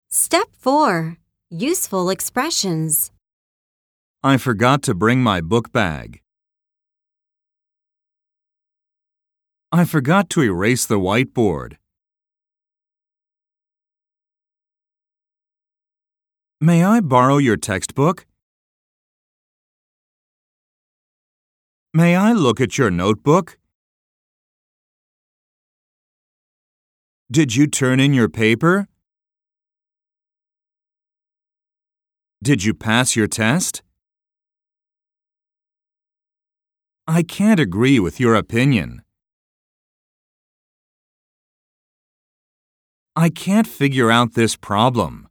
Step 4. Useful expressions. I forgot to bring my book bag. I forgot to erase the whiteboard. May I borrow your textbook? May I look at your notebook? Did you turn in your paper? Did you pass your test? I can't agree with your opinion. I can't figure out this problem.